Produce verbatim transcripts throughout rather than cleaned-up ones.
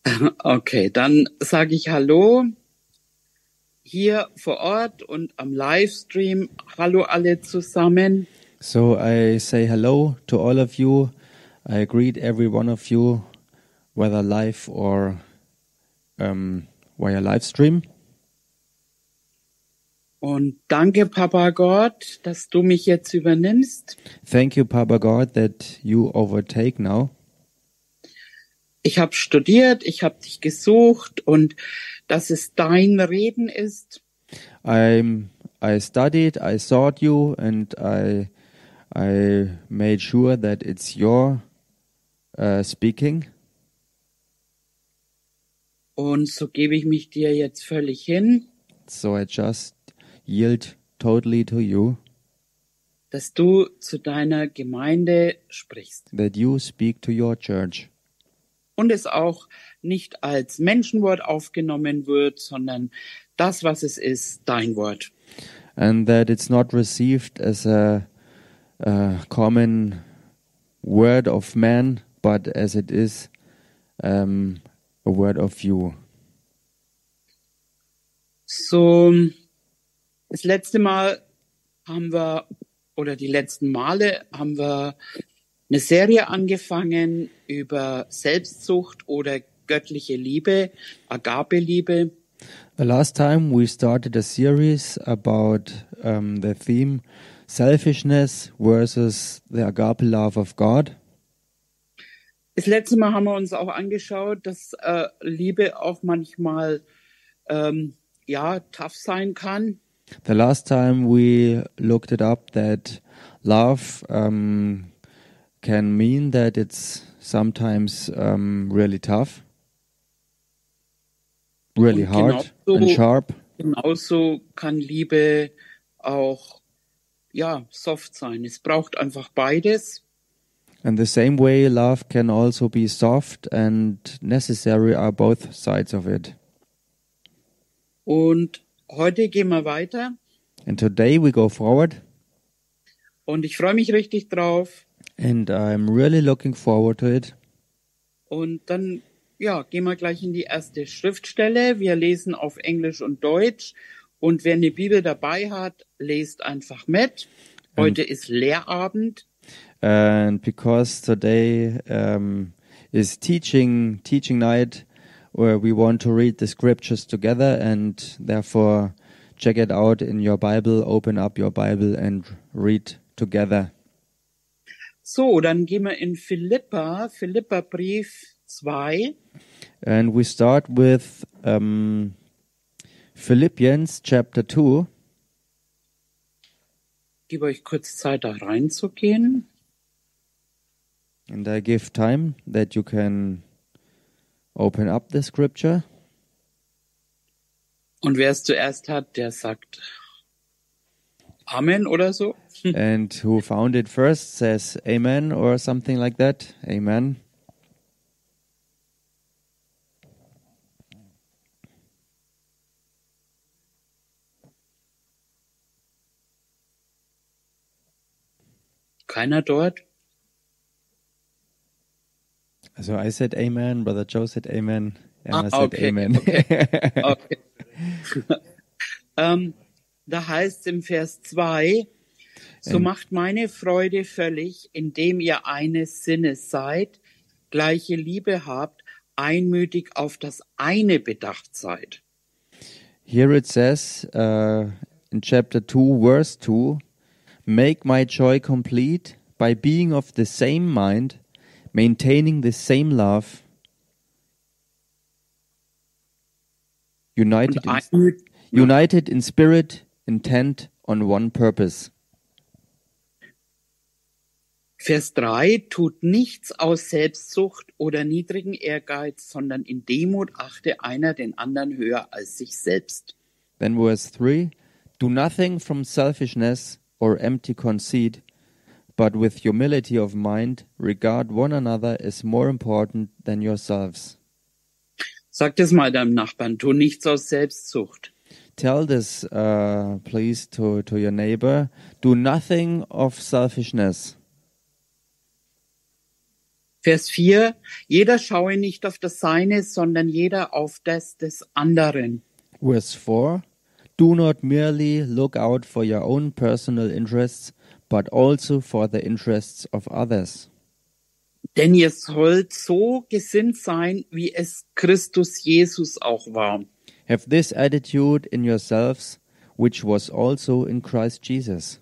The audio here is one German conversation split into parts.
Okay, dann sage ich Hallo hier vor Ort und am Livestream. Hallo alle zusammen. So I say hello to all of you. I greet every one of you, whether live or um, via live stream. Und danke, Papa Gott, dass du mich jetzt übernimmst. Thank you, Papa God, that you overtake now. Ich habe studiert, ich habe dich gesucht und dass es dein Reden ist. I'm, I studied, I sought you, and I, I made sure that it's your uh, speaking. Und so gebe ich mich dir jetzt völlig hin, So I just yield totally to you, dass du zu deiner Gemeinde sprichst. that you speak to your church. Und es auch nicht als Menschenwort aufgenommen wird, sondern das, was es ist, dein Wort. And that it's not received as a, a common word of man, but as it is um, a word of you. So, das letzte Mal haben wir, oder die letzten Male haben wir eine Serie angefangen über Selbstsucht oder göttliche Liebe, Agape-Liebe. The last time we started a series about um, the theme selfishness versus the agape love of God. Das letzte Mal haben wir uns auch angeschaut, dass äh, Liebe auch manchmal ähm, ja tough sein kann. The last time we looked it up that love um, can mean that it's sometimes um, really tough, really Und hard genauso, and sharp. genauso kann Liebe auch ja soft sein. Es braucht einfach beides. And the same way love can also be soft and necessary are both sides of it. Und heute gehen wir weiter. And today we go forward, Und ich freue mich richtig drauf. and I'm really looking forward to it. Und dann ja, gehen wir gleich in die erste Schriftstelle. Wir lesen auf Englisch und Deutsch. Und wer eine Bibel dabei hat, lest einfach mit. Heute ist Lehrabend. And because today um, is teaching teaching night, where we want to read the scriptures together, and therefore check it out in your Bible, open up your Bible and read together. So, dann gehen wir in Philippa, Philippa Brief zwei. And we start with um, Philippians chapter two. Ich gebe euch kurz Zeit, da reinzugehen. And I give time that you can open up the scripture. Und wer es zuerst hat, der sagt Amen oder so. And who found it first says amen or something like that. Amen. Keiner dort? So I said amen, Brother Joe said amen, Emma Ah, said okay, amen. okay. Okay. ähm, da heißt es im Vers zwei, so Ähm. macht meine Freude völlig, indem ihr eines Sinnes seid, gleiche Liebe habt, einmütig auf das eine bedacht seid. Here it says uh, in chapter two, verse two, make my joy complete by being of the same mind, maintaining the same love, united Und in, einmütig, united in spirit, intent on one purpose. Vers drei, tut nichts aus Selbstsucht oder niedrigen Ehrgeiz, sondern in Demut achte einer den anderen höher als sich selbst. Then verse three, do nothing from selfishness or empty conceit, but with humility of mind regard one another as more important than yourselves. Sag das mal deinem Nachbarn, tu nichts aus Selbstsucht. Tell this, uh, please, to, to your neighbor. Do nothing of selfishness. Vers vier, jeder schaue nicht auf das Seine, sondern jeder auf das des anderen. Verse four, do not merely look out for your own personal interests, but also for the interests of others. Denn ihr sollt so gesinnt sein, wie es Christus Jesus auch war. Have this attitude in yourselves, which was also in Christ Jesus.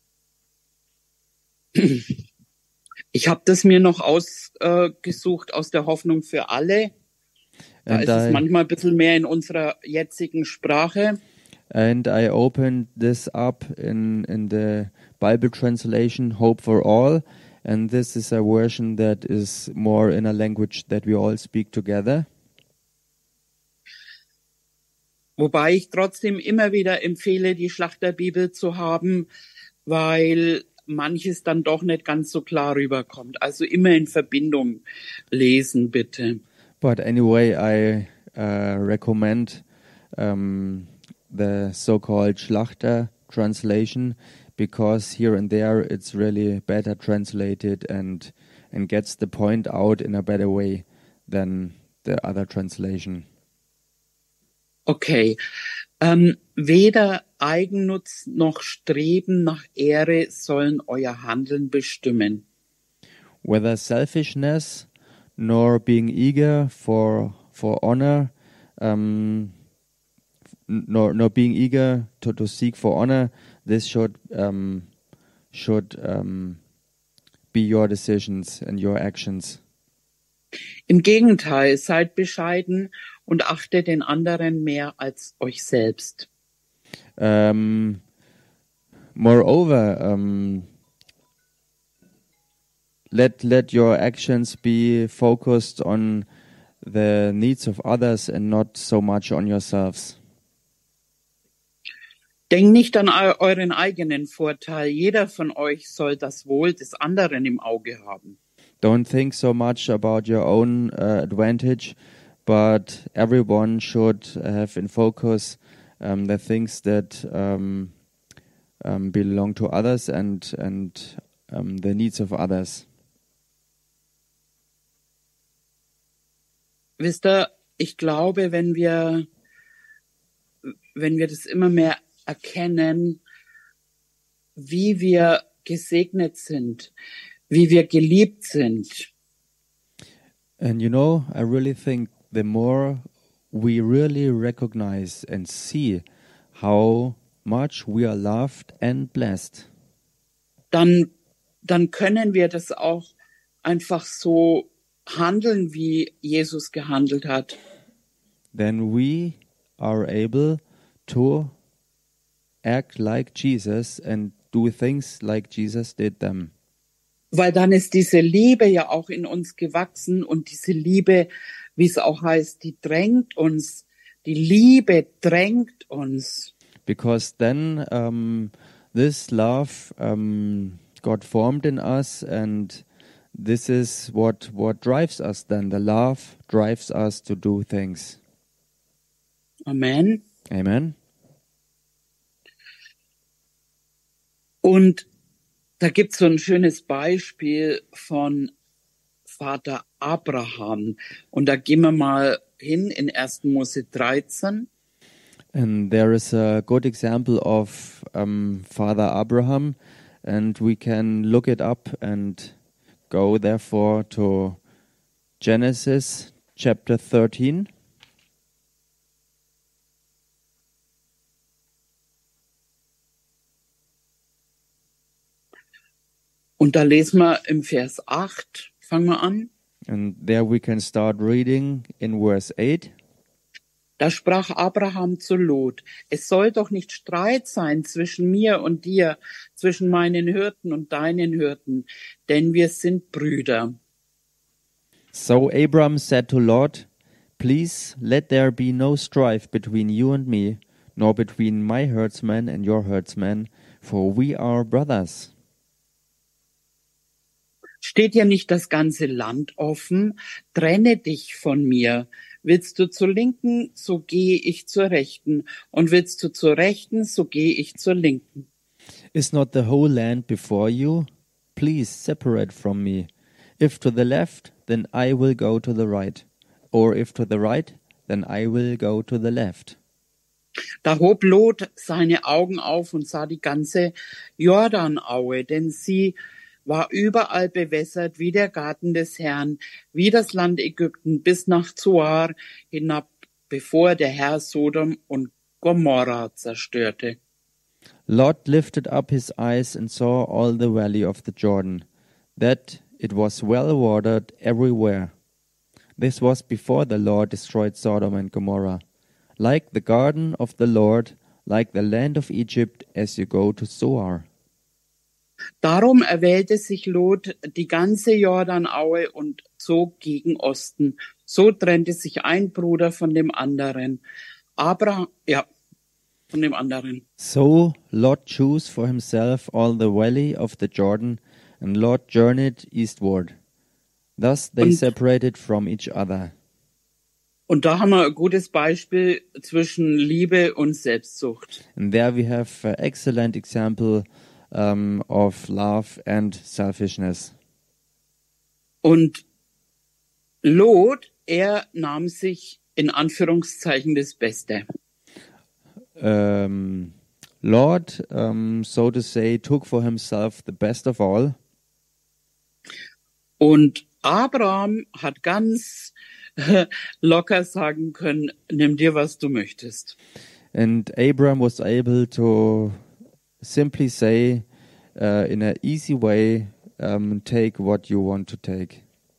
Ich habe das mir noch ausgesucht äh, aus der Hoffnung für alle. Da And ist es I, manchmal ein bisschen mehr in unserer jetzigen Sprache. and I opened this up in, in the Bible translation, Hope for All. And this is a version that is more in a language that we all speak together. Wobei ich trotzdem immer wieder empfehle, die Schlachterbibel zu haben, weil manches dann doch nicht ganz so klar rüberkommt. Also immer in Verbindung lesen, bitte. But anyway, I uh, recommend um, the so-called Schlachter translation because here and there it's really better translated and and gets the point out in a better way than the other translation. Okay. Ähm, weder Eigennutz noch Streben nach Ehre sollen euer Handeln bestimmen. Whether selfishness nor being eager for for honor, um, nor nor being eager to, to seek for honor, this should um, should um, be your decisions and your actions. Im Gegenteil, seid bescheiden und achtet den anderen mehr als euch selbst. Um, moreover, um, let let your actions be focused on the needs of others and not so much on yourselves. Denkt nicht an eu- euren eigenen Vorteil. Jeder von euch soll das Wohl des anderen im Auge haben. Don't think so much about your own uh, advantage, but everyone should have in focus um, the things that um, um, belong to others and and um, the needs of others. Wisst ihr, ich glaube, wenn wir, wenn wir das immer mehr erkennen, wie wir gesegnet sind, wie wir geliebt sind, And you know, I really think the more we really recognize and see how much we are loved and blessed, dann, dann können wir das auch einfach so handeln, wie Jesus gehandelt hat. then we are able to act like Jesus and do things like Jesus did them. Weil dann ist diese Liebe ja auch in uns gewachsen und diese Liebe, wie es auch heißt, die drängt uns, die Liebe drängt uns. Because then um, this love um, got formed in us, and this is what what drives us. Then the love drives us to do things. Amen. Amen. Und da gibt's so ein schönes Beispiel von Vater Abraham. Und da gehen wir mal hin in ersten Mose dreizehn. And there is a good example of um, Father Abraham, and we can look it up and go therefore to Genesis chapter thirteen. Und da lesen wir im Vers acht, fangen wir an. And there we can start reading in verse eight. Da sprach Abraham zu Lot: Es soll doch nicht Streit sein zwischen mir und dir, zwischen meinen Hirten und deinen Hirten, denn wir sind Brüder. So Abram said to Lot, Please let there be no strife between you and me, nor between my herdsmen and your herdsmen, for we are brothers. Steht dir nicht das ganze Land offen? Trenne dich von mir. Willst du zur Linken, so gehe ich zur Rechten. Und willst du zur Rechten, so gehe ich zur Linken. Is not the whole land before you? Please separate from me. If to the left, then I will go to the right. Or if to the right, then I will go to the left. Da hob Lot seine Augen auf und sah die ganze Jordanaue, denn sie war überall bewässert wie der Garten des Herrn, wie das Land Ägypten bis nach Zoar hinab, bevor der Herr Sodom und Gomorra zerstörte. Lot lifted up his eyes and saw all the valley of the Jordan, that it was well watered everywhere. This was before the Lord destroyed Sodom and Gomorrah. Like the garden of the Lord, like the land of Egypt, as you go to Zoar. Darum erwählte sich Lot die ganze Jordanaue und zog gegen Osten. So trennte sich ein Bruder von dem anderen. Abraham, ja, von dem anderen. So Lot chose for himself all the valley of the Jordan, and Lot journeyed eastward. Thus they Und- separated from each other. Und da haben wir ein gutes Beispiel zwischen Liebe und Selbstsucht. And there we have an excellent example um, of love and selfishness. Und Lot, er nahm sich in Anführungszeichen das Beste. Um, Lord, um, so to say, took for himself the best of all. Und Abraham hat ganz locker sagen können, nimm dir, was du möchtest. And Abram was able to simply say, uh, in an easy way, um, take what you want to take.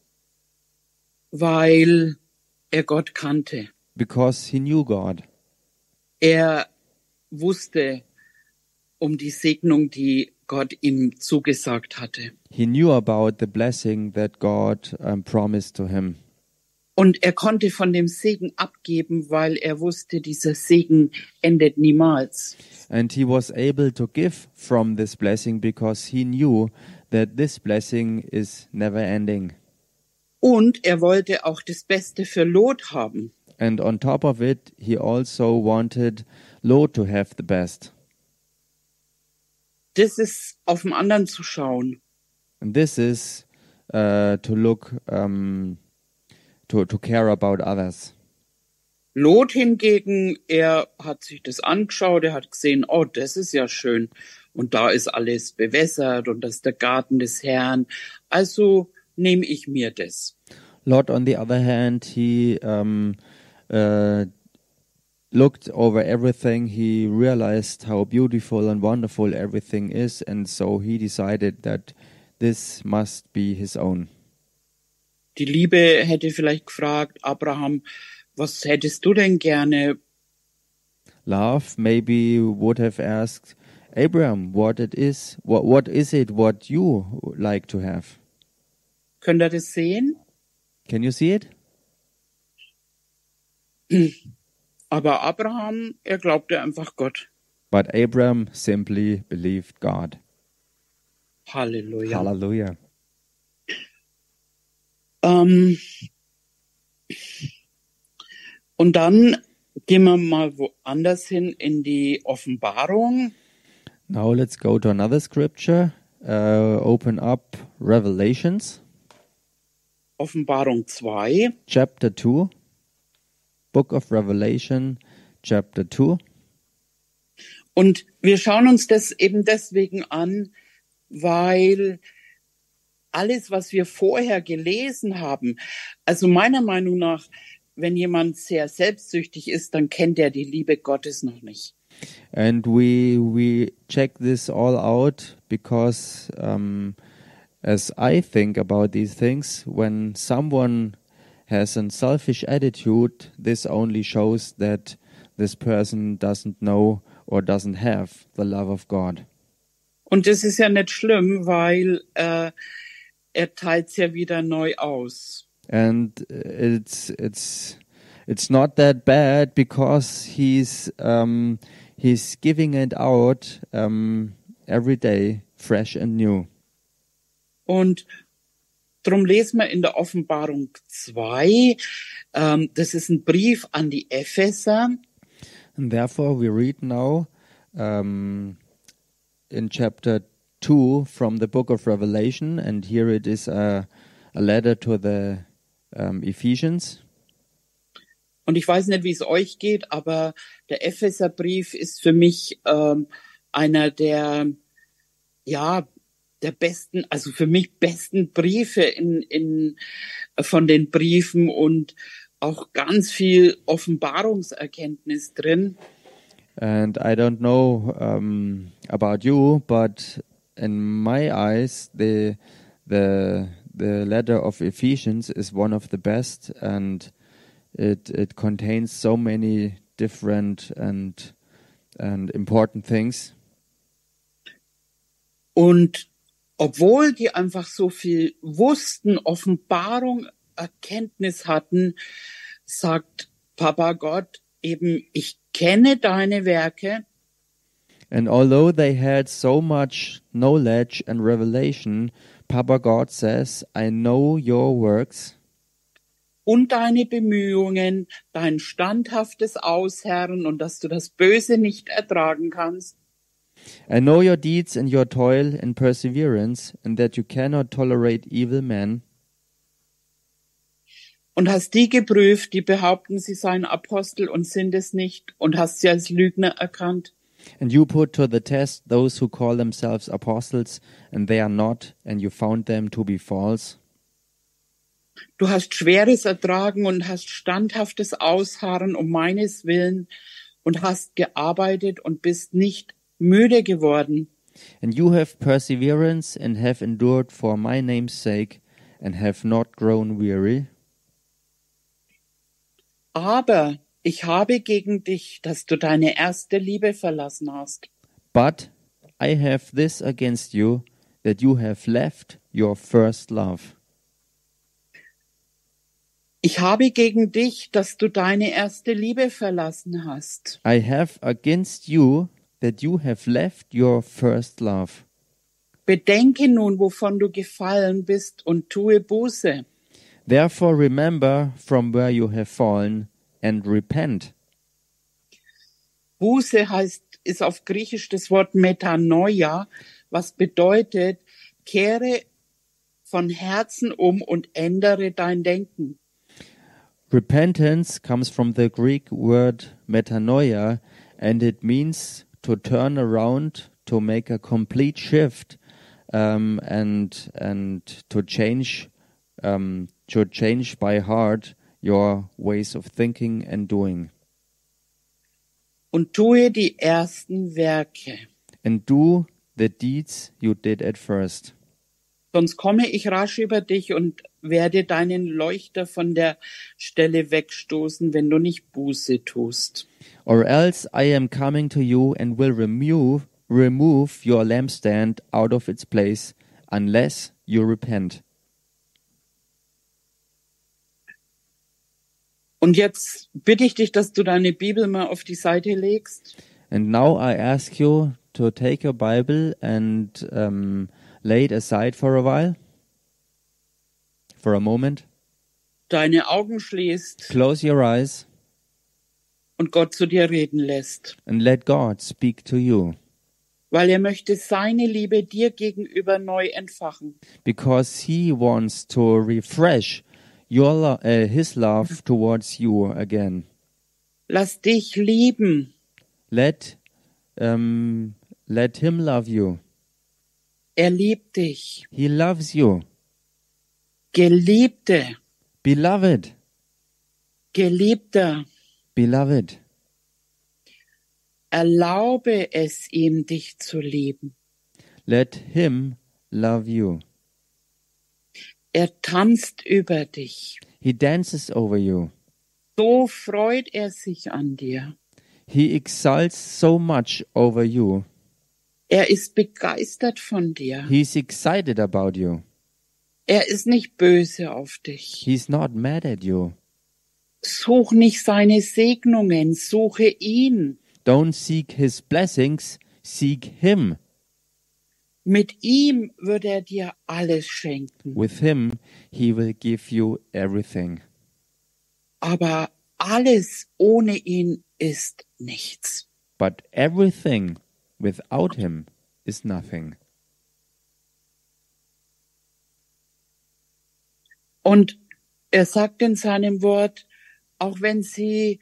Weil er Gott kannte. Because he knew God. Er wusste um die Segnung, die Gott ihm zugesagt hatte. He knew about the blessing that God um, promised to him. Und er konnte von dem Segen abgeben, weil er wusste, dieser Segen endet niemals. And he was able to give from this blessing because he knew that this blessing is never ending. Und er wollte auch das Beste für Lot haben. And on top of it, he also wanted Lot to have the best. Das ist auf den anderen zu schauen. And this is uh, to look, um, to, to care about others. Lot hingegen, er hat sich das angeschaut, er hat gesehen, oh, das ist ja schön. Und da ist alles bewässert und das ist der Garten des Herrn. Also nehme ich mir das. Lot, on the other hand, he um, uh, looked over everything. He realized how beautiful and wonderful everything is, and so he decided that this must be his own. Die Liebe hätte vielleicht gefragt, Abraham, was hättest du denn gerne? Love maybe would have asked Abraham, what it is, what what is it what you like to have? Könnt ihr das sehen? Can you see it? Aber Abraham, er glaubte einfach Gott. But Abraham simply believed God. Halleluja. Hallelujah. Ähm, und dann gehen wir mal woanders hin in die Offenbarung. Now let's go to another scripture. Uh, open up Revelations, Offenbarung zwei. chapter two. Book of Revelation, chapter two. Und wir schauen uns das eben deswegen an, weil alles, was wir vorher gelesen haben, also meiner Meinung nach, wenn jemand sehr selbstsüchtig ist, dann kennt er die Liebe Gottes noch nicht. And we we check this all out because um, as I think about these things, when someone has a selfish attitude, this only shows that this person doesn't know or doesn't have the love of God. Und das ist ja nicht schlimm, weil äh, er teilt es ja wieder neu aus. And it's it's it's not that bad because he's um, he's giving it out um, every day, fresh and new. Und drum lesen wir in der Offenbarung zwei, ähm, das ist ein Brief an die Epheser. And therefore we read now um, in chapter two from the book of Revelation, and here it is a, a letter to the um, Ephesians. Und ich weiß nicht, wie es euch geht, aber der Epheserbrief ist für mich ähm, einer der, ja, der besten, also für mich besten Briefe in, in, von den Briefen und auch ganz viel Offenbarungserkenntnis drin. And I don't know um, about you, but in my eyes, the the the letter of Ephesians is one of the best, and it it contains so many different and and important things. Und obwohl die einfach so viel wussten, Offenbarung, Erkenntnis hatten, sagt Papa Gott eben, ich kenne deine Werke. And although they had so much knowledge and revelation, Papa God says, I know your works. Und deine Bemühungen, dein standhaftes Ausharren und dass du das Böse nicht ertragen kannst. I know your deeds and your toil and perseverance, and that you cannot tolerate evil men. Und hast die geprüft, die behaupten, sie seien Apostel und sind es nicht, und hast sie als Lügner erkannt. And you put to the test those who call themselves apostles, and they are not, and you found them to be false. Du hast Schweres ertragen und hast standhaftes Ausharren um meines Willen und hast gearbeitet und bist nicht müde geworden. And you have perseverance and have endured for my name's sake, and have not grown weary. Aber ich habe gegen dich, dass du deine erste Liebe verlassen hast. But I have this against you, that you have left your first love. Ich habe gegen dich, dass du deine erste Liebe verlassen hast. I have against you, that you have left your first love. Bedenke nun, wovon du gefallen bist, und tue Buße. Therefore remember from where you have fallen, and repent. Buße heißt, ist auf Griechisch das Wort Metanoia, was bedeutet, kehre von Herzen um und ändere dein Denken. Repentance comes from the Greek word metanoia, and it means to turn around, to make a complete shift, um, and and to change, um, to change by heart your ways of thinking and doing. Und tue die ersten Werke. And do the deeds you did at first. Sonst komme ich rasch über dich und werde deinen Leuchter von der Stelle wegstoßen, wenn du nicht Buße tust. Or else I am coming to you and will remove remove your lampstand out of its place, unless you repent. Und jetzt bitte ich dich, dass du deine Bibel mal auf die Seite legst. And now I ask you to take your Bible and um, lay it aside for a while, for a moment. Deine Augen schließt Close your eyes und Gott zu dir reden lässt. and let God speak to you, Weil er möchte seine Liebe dir gegenüber neu entfachen. because He wants to refresh your lo- uh, His love towards you again. Lass dich lieben. Let um, let Him love you. Er liebt dich. He loves you. Geliebte, Beloved, Geliebter, beloved, erlaube es ihm, dich zu lieben. let Him love you. Er tanzt über dich. He dances over you. So freut er sich an dir. He exults so much over you. Er ist begeistert von dir. He's excited about you. Er ist nicht böse auf dich. He's not mad at you. Such nicht seine Segnungen, suche ihn. Don't seek His blessings, seek Him. Mit ihm wird er dir alles schenken. With Him, He will give you everything. Aber alles ohne ihn ist nichts. But everything without Him is nothing. Und er sagt in seinem Wort, auch wenn sie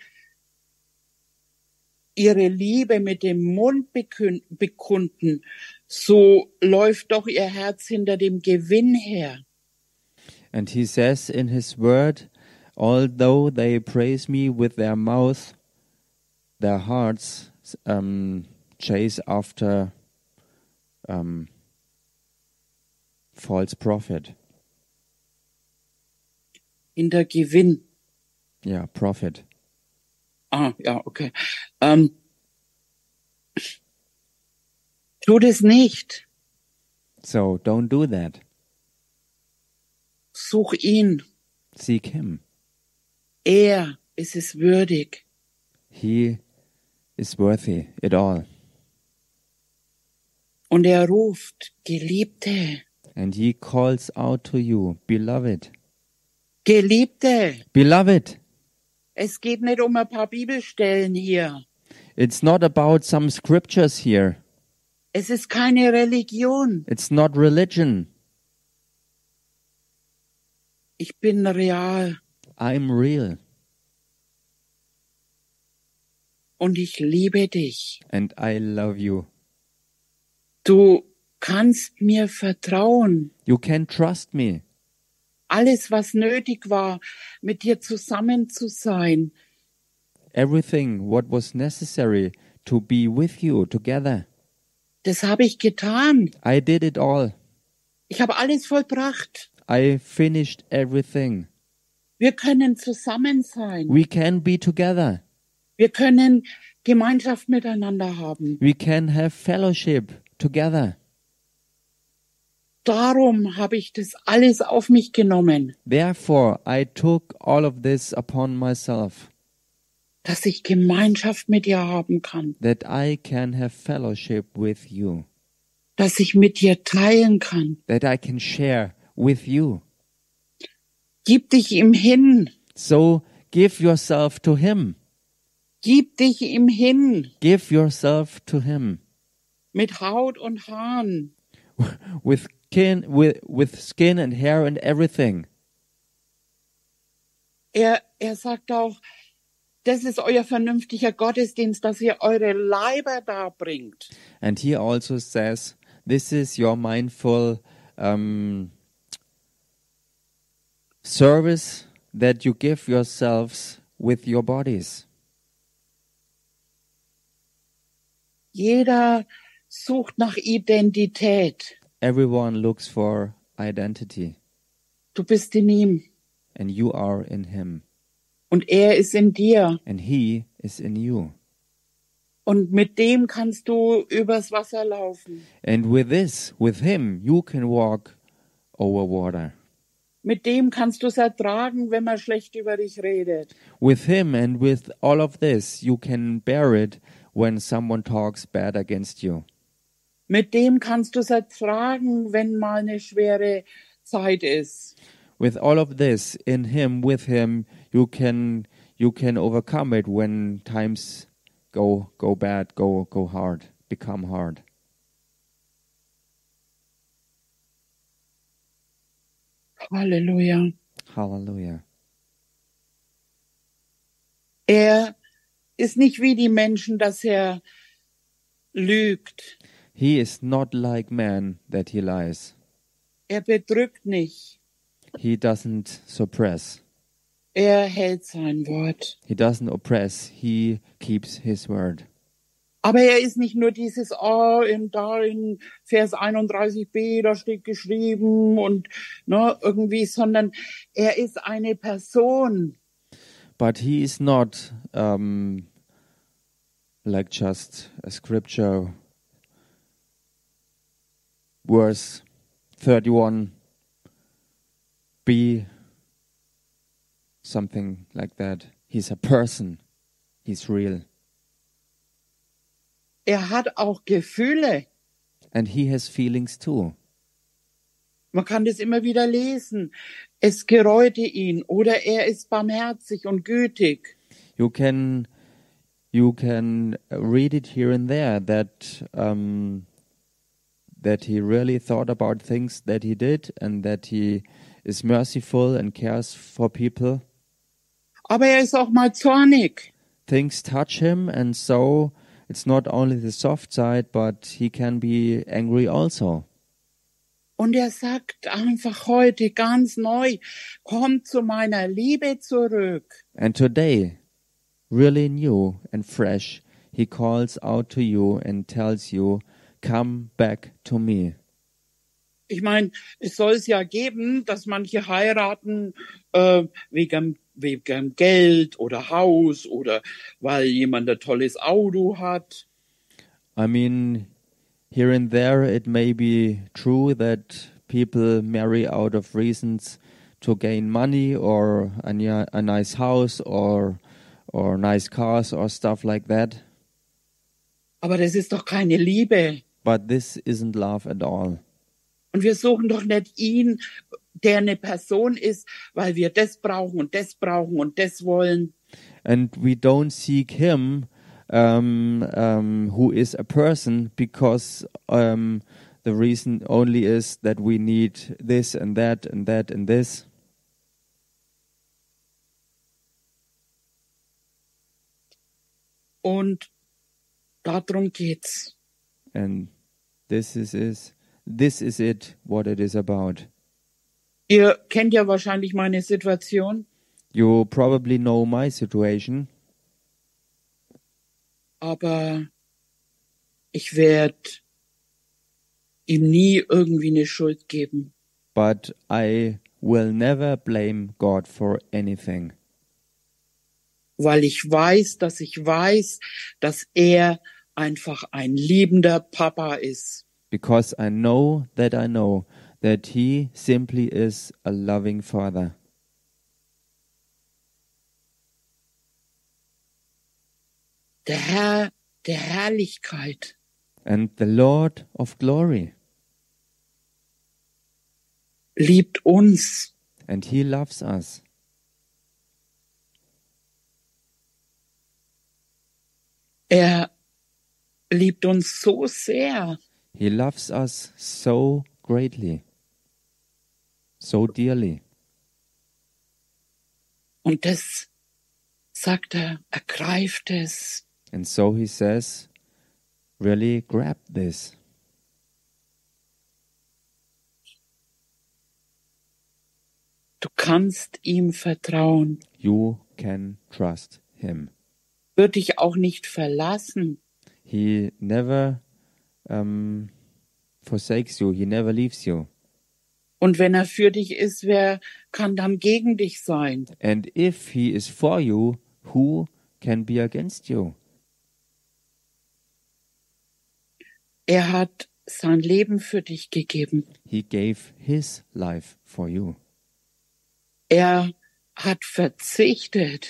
ihre Liebe mit dem Mund bekün- bekunden, so läuft doch ihr Herz hinter dem Gewinn her. And he says in his word, although they praise me with their mouth, their hearts um, chase after um, false prophet. Hinter Gewinn. Yeah, prophet. Ah, ja, okay. Ähm, tu das nicht. So don't do that. Such ihn. Seek him. Er ist es würdig. He is worthy it all. Und er ruft, Geliebte, And he calls out to you, beloved. Geliebte. Beloved. Es geht nicht um ein paar Bibelstellen hier. It's not about some scriptures here. Es ist keine Religion. It's not religion. Ich bin real I'm real. und ich liebe dich. And I love you. Du kannst mir vertrauen. You can trust me. Alles, was nötig war, mit dir zusammen zu sein, Everything what was necessary to be with you together. das habe ich getan. I did it all. Ich habe alles vollbracht. I finished everything. Wir können zusammen sein. We can be together. Wir können Gemeinschaft miteinander haben. We can have fellowship together. Darum habe ich das alles auf mich genommen, Therefore, I took all of this upon myself, dass ich Gemeinschaft mit dir haben kann, that I can have fellowship with you, dass ich mit dir teilen kann. that I can share with you. Gib dich ihm hin. So give yourself to him. Gib dich ihm hin. Give yourself to him. Mit Haut und Haaren. With skin, with, with skin and hair and everything. Er, er sagt auch, das ist euer vernünftiger Gottesdienst, dass ihr eure Leiber darbringt. And he also says, this is your mindful um, service that you give yourselves with your bodies. Jeder sucht nach Identität. Everyone looks for identity, Du bist in ihm and you are in him, und er ist in dir. and he is in you. Und mit dem kannst du übers Wasser laufen. And with this, with him, you can walk over water. Mit dem kannst du es ertragen, wenn man schlecht über dich redet. With him and with all of this, you can bear it when someone talks bad against you. Mit dem kannst du es ertragen, wenn mal eine schwere Zeit ist. With all of this, in him, with him, you can you can overcome it when times go go bad, go go hard, become hard. Halleluja. Hallelujah. Er ist nicht wie die Menschen, dass er lügt. He is not like man that he lies. Er bedrückt nicht. He doesn't suppress. Er hält sein Wort. He doesn't oppress. He keeps his word. Aber er ist nicht nur dieses, oh, in, da in Vers einunddreißig b, da steht geschrieben und ne, irgendwie, sondern er ist eine Person. But he is not um, like just a scripture. Verse thirty-one b, something like that. He's a person. He's real. Er hat auch Gefühle. And he has feelings too. Man kann das immer wieder lesen. Es gereute ihn oder er ist barmherzig und gütig. You can you can read it here and there that um, that he really thought about things that he did and that he is merciful and cares for people. Aber er ist auch mal zornig. Things touch him, and so it's not only the soft side, but he can be angry also. Und er sagt einfach heute ganz neu, komm zu meiner Liebe zurück. And today, really new and fresh, he calls out to you and tells you, come back to me. Ich meine, es soll es ja geben, dass manche heiraten äh, wegen, wegen Geld oder Haus oder weil jemand ein tolles Auto hat. I mean, here and there it may be true that people marry out of reasons to gain money or a, ni- a nice house or or nice cars or stuff like that. Aber das ist doch keine Liebe. But this isn't love at all. Und wir suchen doch nicht ihn, der eine Person ist, weil wir das brauchen und das brauchen und das wollen. And we don't seek him um, um, who is a person because um, the reason only is that we need this and that and that and this. Und darum geht's. And this is, is this is it, what it is about. Ihr kennt ja wahrscheinlich meine Situation, You probably know my situation, aber ich werde ihm nie irgendwie eine Schuld geben. but I will never blame God for anything. Weil ich weiß, dass ich weiß, dass er einfach ein liebender Papa ist. Because I know that I know that he simply is a loving father. Der Herr der Herrlichkeit. And the Lord of glory. Liebt uns. And he loves us. Er liebt uns so sehr. He loves us so greatly, so dearly. Und das sagt er, ergreift es. And so he says, really grab this. Du kannst ihm vertrauen. You can trust him. Wird dich auch nicht verlassen. He never um, forsakes you. He never leaves you. Und wenn er für dich ist, wer kann dann gegen dich sein? And if he is for you, who can be against you? Er hat sein Leben für dich gegeben. He gave his life for you. Er hat verzichtet.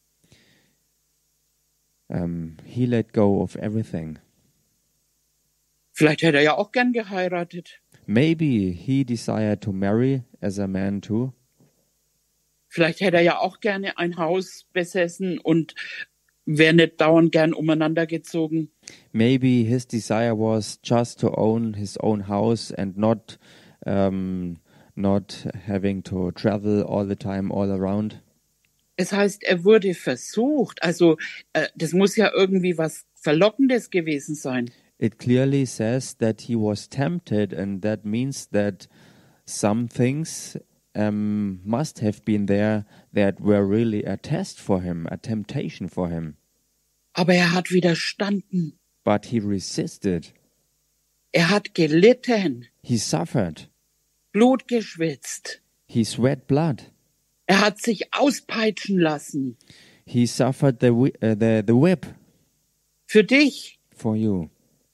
Um, he let go of everything. Vielleicht hätte er ja auch gern geheiratet. Maybe he desired to marry as a man too. Vielleicht hätte er ja auch gerne ein Haus besessen und wäre nicht dauernd gern umeinander gezogen. Maybe his desire was just to own his own house and not um, not having to travel all the time all around. Es heißt, er wurde versucht. Also äh, das muss ja irgendwie was Verlockendes gewesen sein. It clearly says that he was tempted, and that means that some things um, must have been there that were really a test for him, a temptation for him. Aber er hat widerstanden. But he resisted. Er hat gelitten, He suffered. Blut geschwitzt. He sweat blood. Er hat sich auspeitschen lassen. He suffered the whi- uh, the the whip Für dich, for you,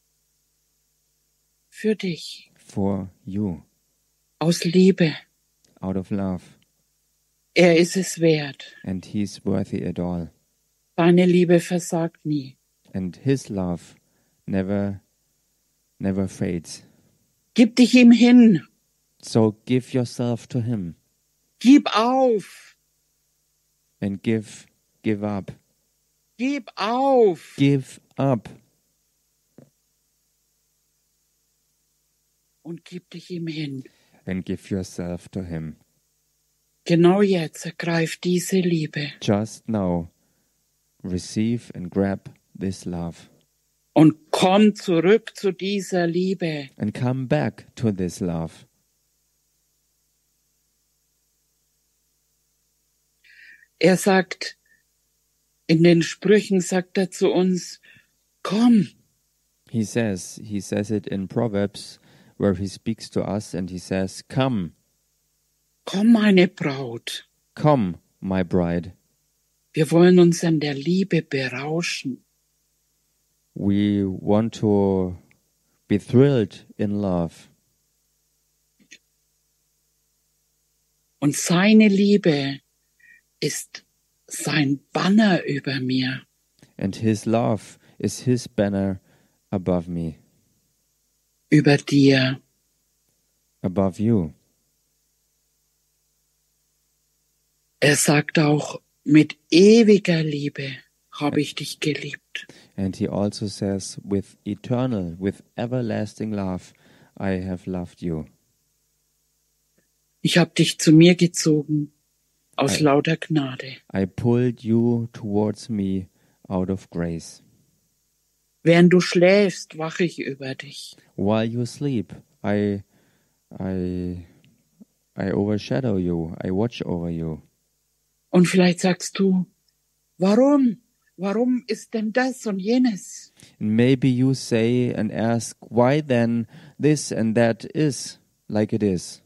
für dich. for you, Aus Liebe. out of love, Er ist es wert. and he's worthy it all. Seine Liebe versagt nie. And his love never, never fades. Gib dich ihm hin. So give yourself to him Gib auf. and give, give up, Gib auf. give up, Und gib dich ihm hin. and give yourself to him. Genau jetzt ergreif diese Liebe Just now, receive and grab this love. und komm zurück zu dieser Liebe. And come back to this love. Er sagt, in den Sprüchen sagt er zu uns, komm, He says, he says it in Proverbs, where he speaks to us and he says, Come, komm, meine Braut. come, my bride. Wir wollen uns an der Liebe berauschen. We want to be thrilled in love. Und seine Liebe ist sein Banner über mir. And his love is his banner above me, Über dir. above you. Er sagt auch, mit ewiger Liebe habe ich dich geliebt. And he also says, with eternal, with everlasting love, I have loved you. Ich habe dich zu mir gezogen, aus I- lauter Gnade. I pulled you towards me out of grace. Während du schläfst, wache ich über dich. While you sleep, I, I, I overshadow you. I watch over you. Und vielleicht sagst du, warum? Warum ist denn das und jenes? And maybe you say and ask, why then this and that is like it is?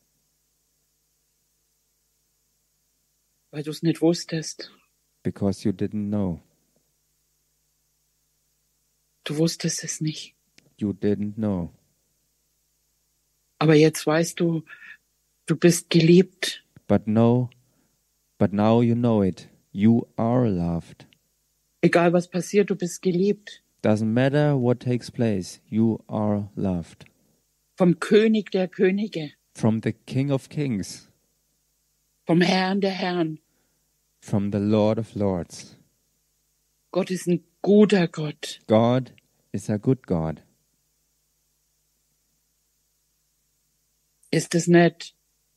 Weil du es nicht wusstest. Because you didn't know. Du wusstest es nicht. You didn't know. Aber jetzt weißt du, du bist geliebt. But no, but now you know it. You are loved. Egal was passiert, du bist geliebt. Doesn't matter what takes place. You are loved. Vom König der Könige. From the King of Kings. Vom Herrn der Herren. From the Lord of Lords. Gott ist ein guter Gott. God is a good God. Ist es nicht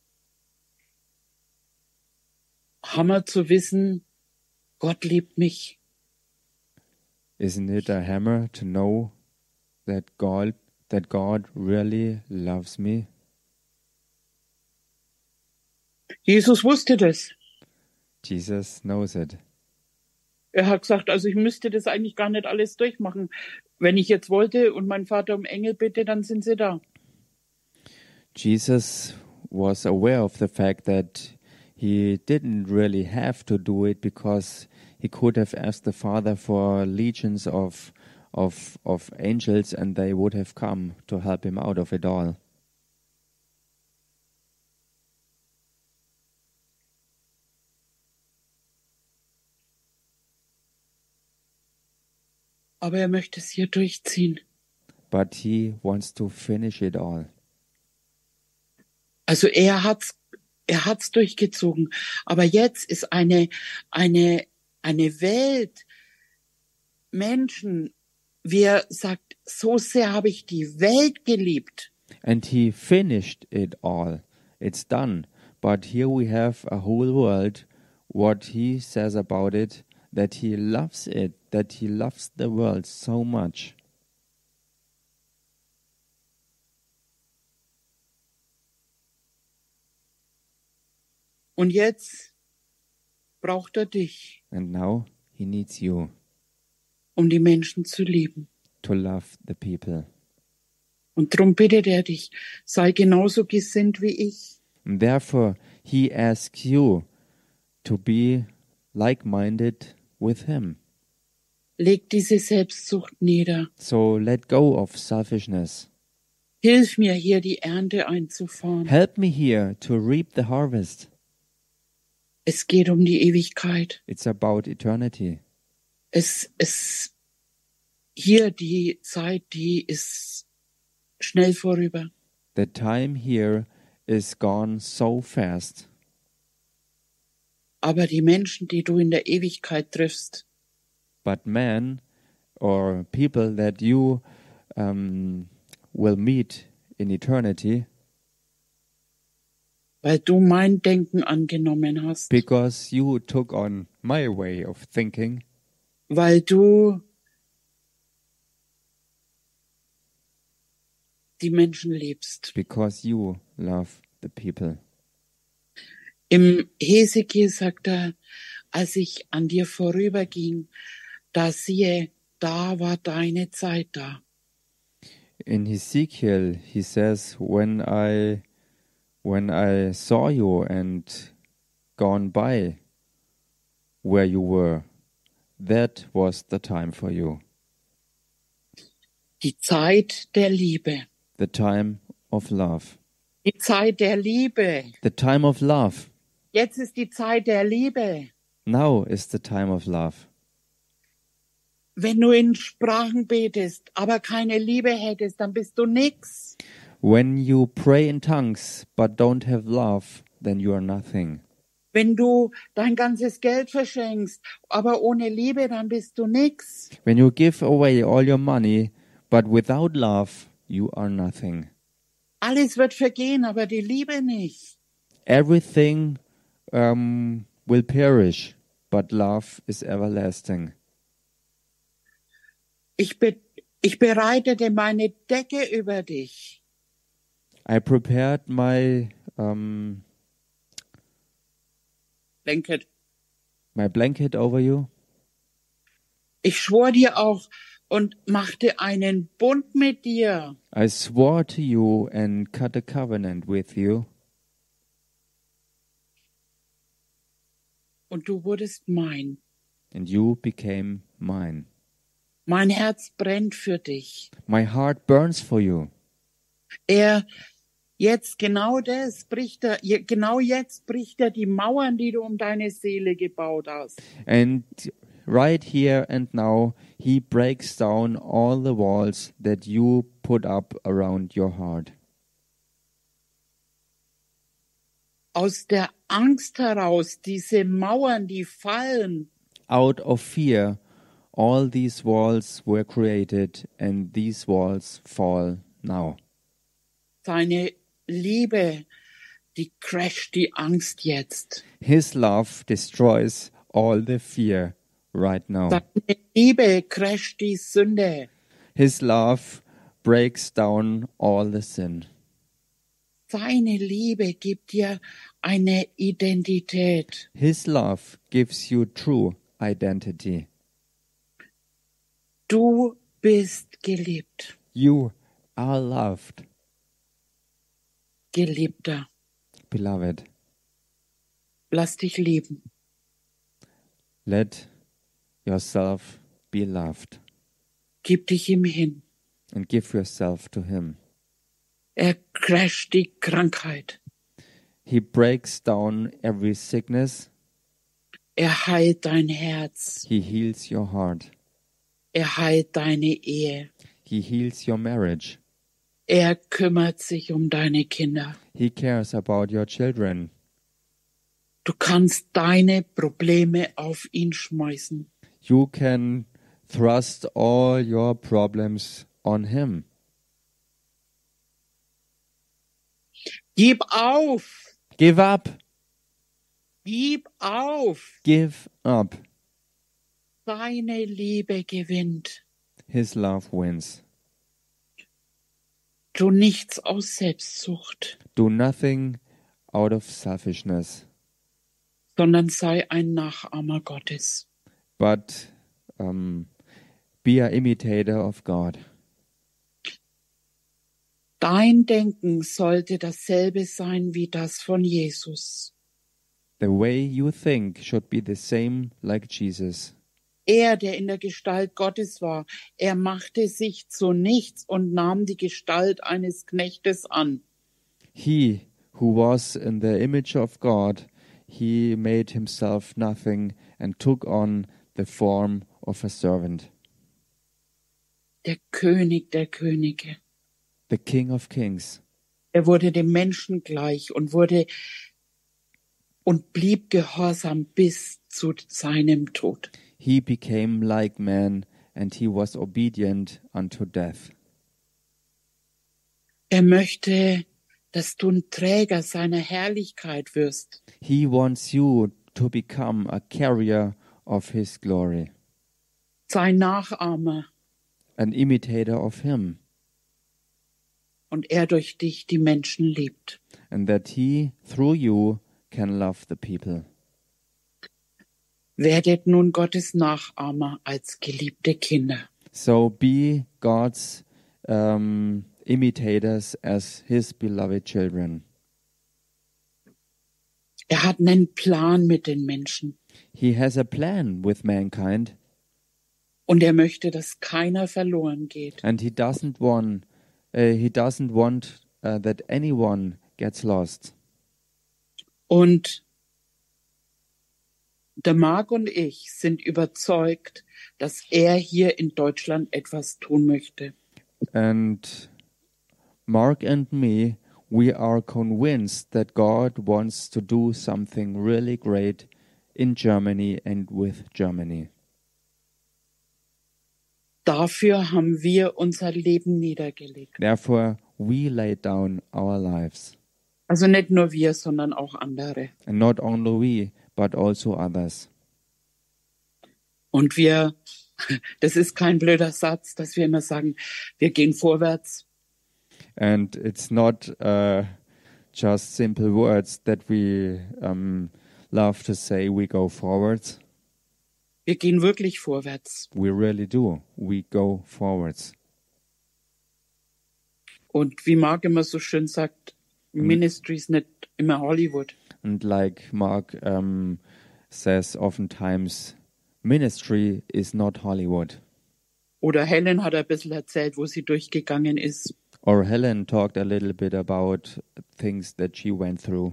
Hammer zu wissen, Gott liebt mich? Isn't it a hammer to know that God that God really loves me? Jesus wusste das. Jesus knows it. Er hat gesagt, also ich müsste das eigentlich gar nicht alles durchmachen. Wenn ich jetzt wollte und mein Vater um Engel bitte, dann sind sie da. Jesus was aware of the fact that he didn't really have to do it because he could have asked the Father for legions of of of angels and they would have come to help him out of it all. Aber er möchte es hier durchziehen. But he wants to finish it all. Also er hat's, er hat's durchgezogen. Aber jetzt ist eine, eine, eine Welt, Menschen, wie er sagt, so sehr habe ich die Welt geliebt. And he finished it all. It's done. But here we have a whole world, what he says about it, that he loves it, that he loves the world so much. Und jetzt braucht er dich, And now he needs you um die Menschen zu lieben. to love the people. Und darum bittet er dich, sei genauso gesinnt wie ich. And therefore he asks you to be like-minded with him. Leg diese Selbstsucht nieder. So let go of selfishness. Hilf mir, hier die Ernte einzufahren. Help me here to reap the harvest. Es geht um die Ewigkeit. It's about eternity. Es, es, hier die Zeit, die ist schnell vorüber. The time here is gone so fast. Aber die Menschen, die du in der Ewigkeit triffst, But men or people that you um, will meet in eternity, weil du mein Denken angenommen hast, because you took on my way of thinking, weil du die Menschen liebst. because you love the people. Im Hesekiel sagt er, als ich an dir vorüberging, da siehe, da war deine Zeit da. In Ezekiel, he says, when I when I saw you and gone by where you were, that was the time for you, Die Zeit der Liebe. the time of love, Die Zeit der Liebe. the time of love. Jetzt ist die Zeit der Liebe. Now is the time of love. Wenn du in Sprachen betest, aber keine Liebe hättest, dann bist du nix. When you pray in tongues but don't have love, then you are nothing. Wenn du dein ganzes Geld verschenkst, aber ohne Liebe, dann bist du nix. When you give away all your money but without love, you are nothing. Alles wird vergehen, aber die Liebe nicht. Everything um, will perish, but love is everlasting. Ich, be ich bereitete meine Decke über dich. I prepared my um, Blanket. my blanket over you. Ich schwor dir auch und machte einen Bund mit dir. I swore to you and cut a covenant with you, Und du wurdest mein. and you became mine. Mein Herz brennt für dich. My heart burns for you. Er, jetzt genau das bricht er, je- genau jetzt bricht er die Mauern, die du um deine Seele gebaut hast. And right here and now, he breaks down all the walls that you put up around your heart. Aus der Angst heraus, diese Mauern, die fallen, Out of fear, all these walls were created, and these walls fall now. seine Liebe, die crasht die Angst jetzt. His love destroys all the fear right now. Seine Liebe crasht die Sünde. His love breaks down all the sin. Seine Liebe gibt dir eine Identität. His love gives you true identity. Du bist geliebt, You are loved, Geliebter. beloved. Lass dich lieben. Let yourself be loved Gib dich ihm hin. and give yourself to him. Er crasht die Krankheit. He breaks down every sickness. Er heilt dein Herz. He heals your heart. Er heilt deine Ehe. He heals your marriage. Er kümmert sich um deine Kinder. He cares about your children. Du kannst deine Probleme auf ihn schmeißen. You can thrust all your problems on him. Gib auf! Give up. Gib auf! Give up. Seine Liebe gewinnt. His love wins. Tu nichts aus Selbstsucht, Do nothing out of selfishness, sondern sei ein Nachahmer Gottes. but um, be an imitator of God. Dein Denken sollte dasselbe sein wie das von Jesus. The way you think should be the same like Jesus. Er, der in der Gestalt Gottes war, er machte sich zu nichts und nahm die Gestalt eines Knechtes an. He who was in the image of God, he made himself nothing and took on the form of a servant, Der König der Könige. the King of Kings. Er wurde dem Menschen gleich und wurde und blieb gehorsam bis zu seinem Tod. He became like man, and he was obedient unto death. Er möchte, dass du ein Träger seiner Herrlichkeit wirst. He wants you to become a carrier of His glory, Sein Nachahmer an imitator of Him, und er durch dich die Menschen liebt. and that He, through you, can love the people. Werdet nun Gottes Nachahmer als geliebte Kinder. So be God's um, imitators as His beloved children. Er hat einen Plan mit den Menschen He has a plan with mankind, und er möchte, dass keiner verloren geht. and He doesn't want uh, He doesn't want uh, that anyone gets lost. Und der Marc und ich sind überzeugt, dass er hier in Deutschland etwas tun möchte. And Mark and me, we are convinced that God wants to do something really great in Germany and with Germany. Dafür haben wir unser Leben niedergelegt. Therefore, we lay down our lives. Also nicht nur wir, sondern auch andere. And not only we, but also others. Und wir, das ist kein blöder Satz, dass wir immer sagen, wir gehen vorwärts. And it's not uh, just simple words that we um, love to say we go forwards. Wir gehen wirklich vorwärts. We really do. We go forwards. Und wie Marc immer so schön sagt, Ministry ist nicht immer Hollywood. And like Mark um, says oftentimes, ministry is not Hollywood. Oder Helen hat ein bisschen erzählt, wo sie durchgegangen ist. Or Helen talked a little bit about things that she went through.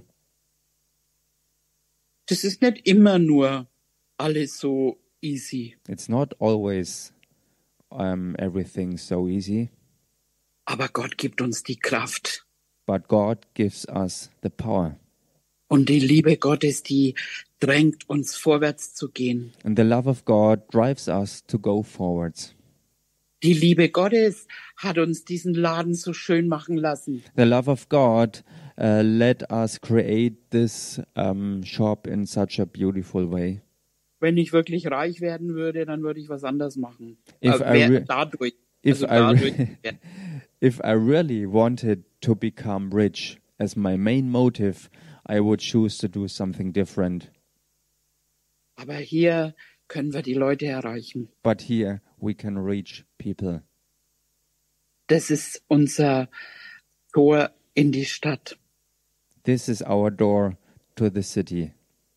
Das ist nicht immer nur alles so easy. It's not always um, everything so easy, Aber Gott gibt uns die Kraft. but God gives us the power. Und die Liebe Gottes, die drängt uns vorwärts zu gehen. And the love of God drives us to go forwards. Die Liebe Gottes hat uns diesen Laden so schön machen lassen. The love of God uh, let us create this um, shop in such a beautiful way. Wenn ich wirklich reich werden würde, dann würde ich was anderes machen. If Äh, I wer- re- dadurch. If also I, dadurch. re- if I really wanted to become rich as my main motive, I would choose to do something different. Aber hier können wir die Leute erreichen. But here we can reach people. Das ist unser Tor in die Stadt. This is our door to the city.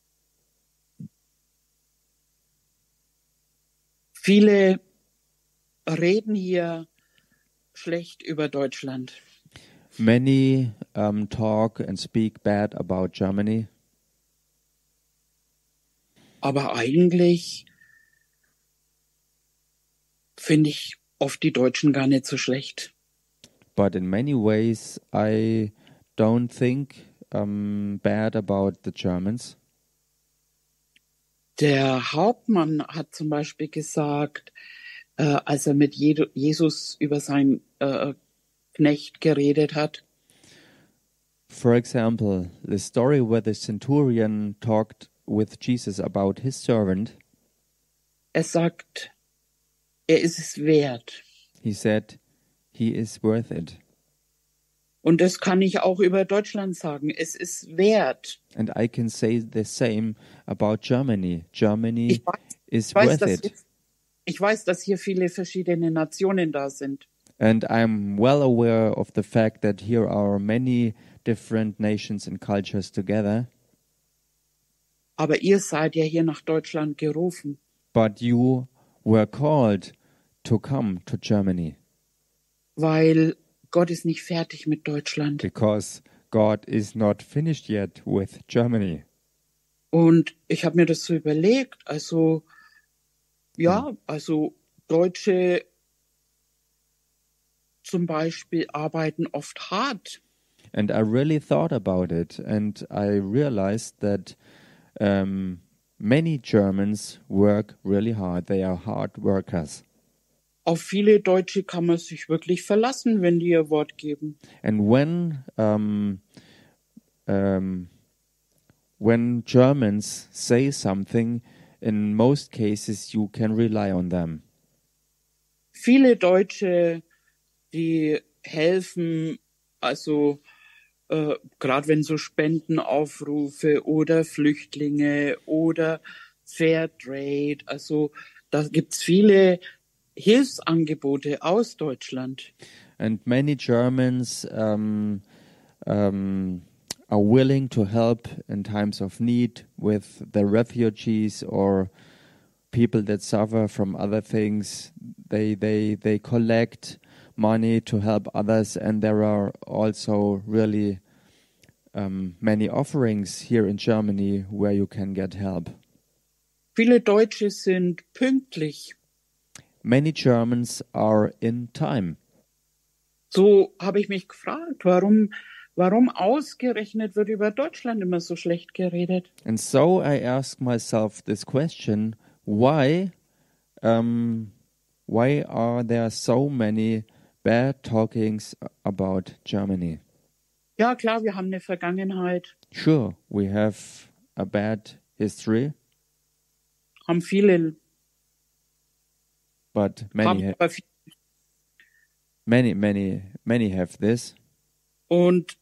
Viele reden hier schlecht über Deutschland. Many um, talk and speak bad about Germany, Aber eigentlich finde ich oft die Deutschen gar nicht so schlecht. but in many ways I don't think um, bad about the Germans. Der Hauptmann hat zum Beispiel gesagt, äh, als er mit Jedu- Jesus über seinen äh, Knecht geredet hat, For example, the story where the centurion talked with Jesus about his servant, er sagt, er ist es wert. he said, he is worth it. Und das kann ich auch über Deutschland sagen. Es ist wert. And I can say the same about Germany. Germany Ich weiß, is ich weiß, worth dass it. hier, ich weiß, dass hier viele verschiedene Nationen da sind. And I'm well aware of the fact that here are many different nations and cultures together, Aber ihr seid ja hier nach Deutschland gerufen. but you were called to come to Germany Weil Gott ist nicht fertig mit Deutschland. because God is not finished yet with Germany. Und ich habe mir das so überlegt. Also, ja, also Deutsche zum Beispiel arbeiten oft hart. And I really thought about it, and I realized that um, many Germans work really hard. They are hard workers. Auf viele Deutsche kann man sich wirklich verlassen, wenn die ihr Wort geben. And when um, um, when Germans say something, in most cases you can rely on them. Viele Deutsche, die helfen, also äh, gerade wenn so Spendenaufrufe oder Flüchtlinge oder Fairtrade, also da gibt's viele Hilfsangebote aus Deutschland. And many Germans um, um, are willing to help in times of need with the refugees or people that suffer from other things. They they they collect money to help others, and there are also really um, many offerings here in Germany where you can get help. Viele Deutsche sind pünktlich. Many Germans are in time. So habe ich mich gefragt, warum, warum ausgerechnet wird über Deutschland immer so schlecht geredet? And so I ask myself this question: Why, um, why are there so many bad talkings about Germany? Ja, klar, wir haben eine Vergangenheit, Sure, we have a bad history, haben viele, but many, haben ha- aber viel. many, many, many have this. Und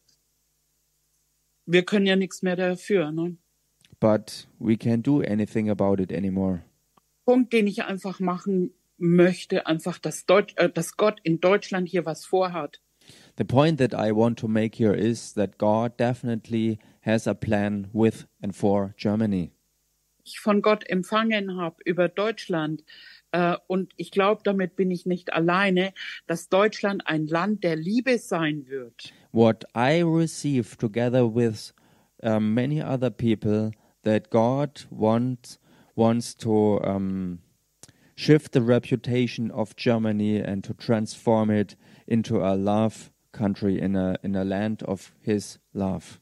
wir können ja nichts mehr dafür. Ne? But we can't do anything about it anymore. Punkt, den ich einfach machen möchte, einfach, dass, Deutsch, äh, dass Gott in Deutschland hier was vorhat. The point that I want to make here is that God definitely has a plan with and for Germany. Ich von Gott empfangen habe über Deutschland. Äh, und ich glaube, damit bin ich nicht alleine, dass Deutschland ein Land der Liebe sein wird. What I receive together with um, many other people, that God wants wants to um, shift the reputation of Germany and to transform it into a love country, in a in a land of His love.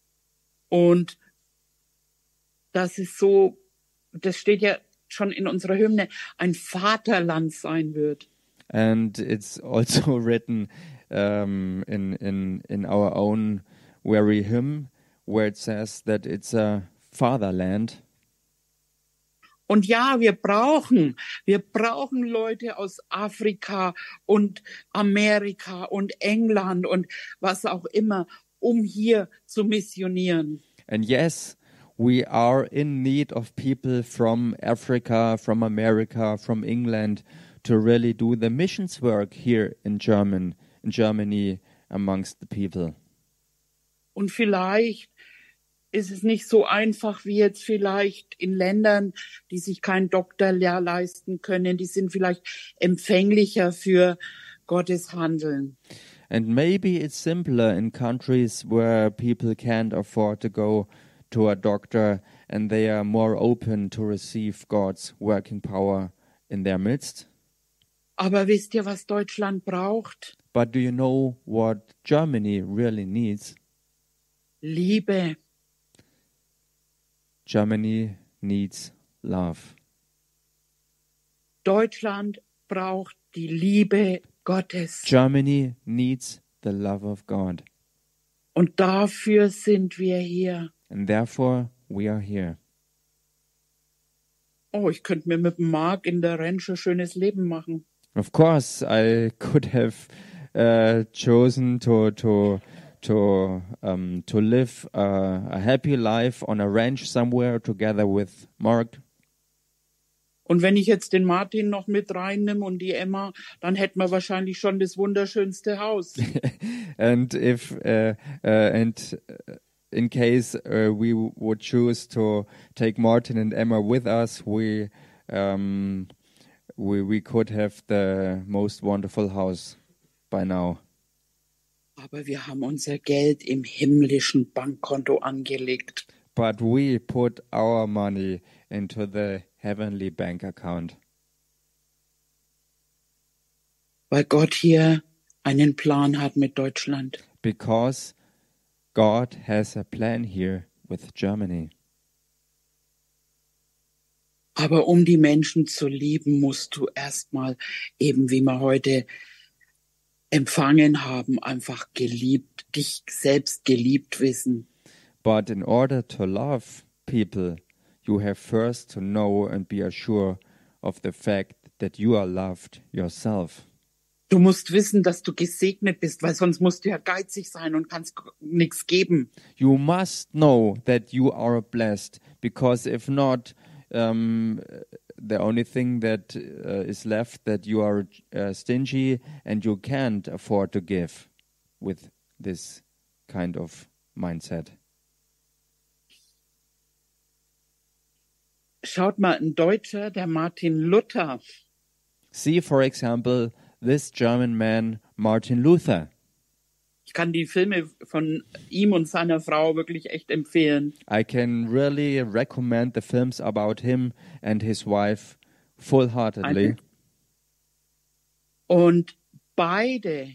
Und das ist so, das steht ja schon in unserer Hymne, ein Vaterland sein wird. And it's also written um, in in in our own very hymn, where it says that it's a fatherland. Und ja, wir brauchen, wir brauchen Leute aus Afrika und Amerika und England und was auch immer, um hier zu missionieren. And yes, we are in need of people from Africa, from America, from England to really do the missions work here in German, in Germany amongst the people. Und vielleicht ist es nicht so einfach wie jetzt vielleicht in Ländern, die sich keinen Doktorlehr leisten können. Die sind vielleicht empfänglicher für Gottes Handeln. And maybe it's simpler in countries where people can't afford to go to a doctor and they are more open to receive God's working power in their midst. Aber wisst ihr, was Deutschland braucht? But do you know what Germany really needs? Liebe. Germany needs love. Deutschland braucht die Liebe Gottes. Germany needs the love of God. Und dafür sind wir hier. And therefore we are here. Oh, ich könnte mir mit dem Marc in der Ranch ein schönes Leben machen. Of course, I could have uh, chosen to to to um, to live uh, a happy life on a ranch somewhere together with Mark. Und wenn ich jetzt den Martin noch mit reinnehme und die Emma, dann hätten wir wahrscheinlich schon das wunderschönste Haus. And if uh, uh, and in case uh, we would choose to take Martin and Emma with us, we um, we we could have the most wonderful house by now. Aber wir haben unser Geld im himmlischen Bankkonto angelegt. But we put our money into the heavenly bank account. Weil Gott hier einen Plan hat mit Deutschland. Because God has a plan here with Germany. Aber um die Menschen zu lieben, musst du erstmal eben, wie wir heute empfangen haben, einfach geliebt, dich selbst geliebt wissen. But in order to love people, you have first to know and be assured of the fact that you are loved yourself. Du musst wissen, dass du gesegnet bist, weil sonst musst du ja geizig sein und kannst nichts geben. You must know that you are blessed, because if not, um, the only thing that uh, is left that you are uh, stingy and you can't afford to give with this kind of mindset. Schaut mal, ein Deutscher, der Martin Luther, See, for example, this German man, Martin Luther. ich kann die Filme von ihm und seiner Frau wirklich echt empfehlen. I can really recommend the films about him and his wife full-heartedly. Und beide,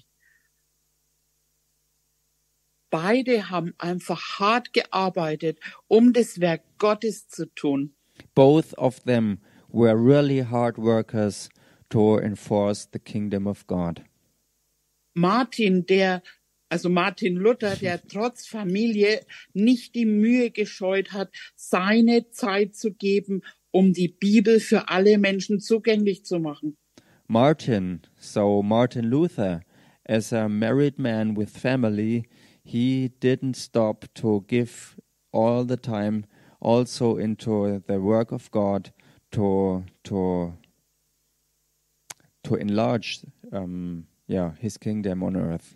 beide haben einfach hart gearbeitet, um das Werk Gottes zu tun. Both of them were really hard workers to enforce the kingdom of God. Martin, der, also Martin Luther, der trotz Familie nicht die Mühe gescheut hat, seine Zeit zu geben, um die Bibel für alle Menschen zugänglich zu machen. Martin, so Martin Luther, as a married man with family, he didn't stop to give all the time also into the work of God to to to enlarge um, yeah, his kingdom on earth.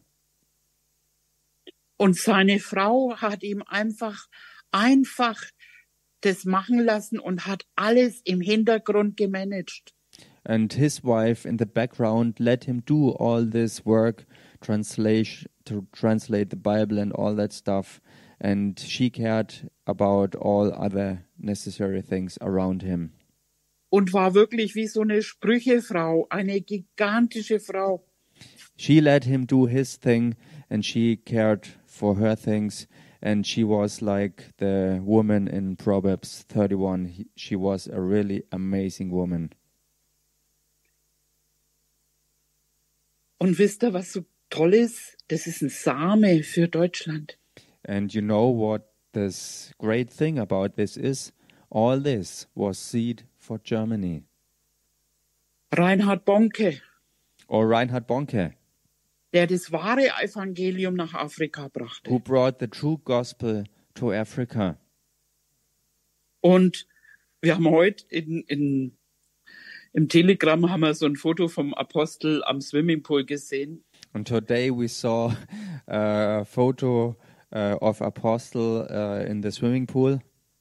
Und seine Frau hat ihm einfach, einfach das machen lassen und hat alles im Hintergrund gemanagt. And his wife in the background let him do all this work, translation to translate the Bible and all that stuff, and she cared about all other necessary things around him. Und war wirklich wie so eine Sprüchefrau, eine gigantische Frau. She let him do his thing, and she cared for her things, and she was like the woman in Proverbs thirty-one. He- She was a really amazing woman. Und wisst ihr, was so toll ist? Das ist ein Same für Deutschland. And you know what this great thing about this is? All this was seed for Germany. Reinhard Bonke, Or Reinhard Bonke, der das wahre Evangelium nach Afrika brachte. who brought the true gospel to Africa. Und wir haben heute in, in, im Telegram haben wir so ein Foto vom Apostel am Swimmingpool gesehen. And today we saw uh, a photo uh, of Apostle uh, in the swimming pool.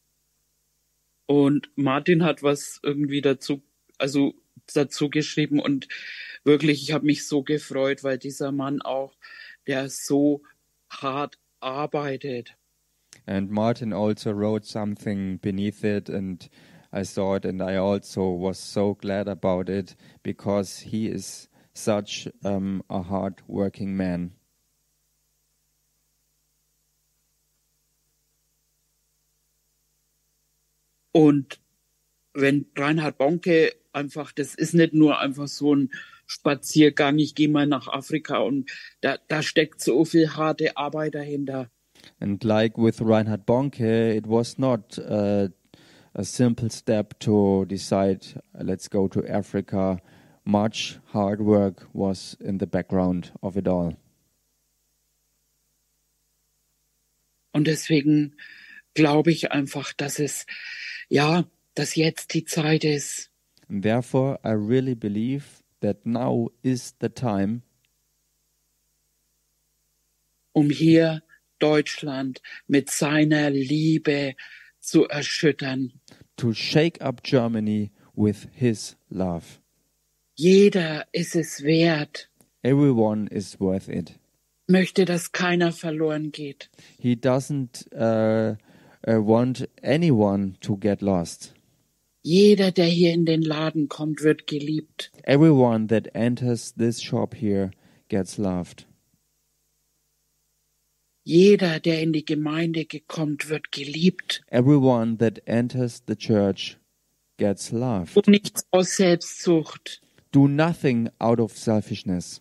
Und Martin hat was irgendwie dazu, also dazu geschrieben. Und wirklich, ich habe mich so gefreut, weil dieser Mann auch, der so hart arbeitet. And Martin also wrote something beneath it, and I saw it, and I also was so glad about it, because he is such um, a hard-working man. Und wenn Reinhard Bonke einfach, das ist nicht nur einfach so ein Spaziergang, ich gehe mal nach Afrika, und da, da steckt so viel harte Arbeit dahinter. And like with Reinhard Bonke, it was not uh, a simple step to decide, let's go to Africa. Much hard work was in the background of it all. Und deswegen glaube ich einfach, dass es, ja, dass jetzt die Zeit ist, And therefore, I really believe that now is the time um hier Deutschland mit seiner Liebe zu erschüttern. to shake up Germany with his love. Jeder ist es wert, Everyone is worth it. möchte, dass keiner verloren geht. He doesn't uh, uh, want anyone to get lost. Jeder, der hier in den Laden kommt, wird geliebt. Everyone that enters this shop here gets loved. Jeder, der in die Gemeinde kommt, wird geliebt. Everyone that enters the church gets Tu loved. nichts aus Selbstsucht. Do nothing out of selfishness.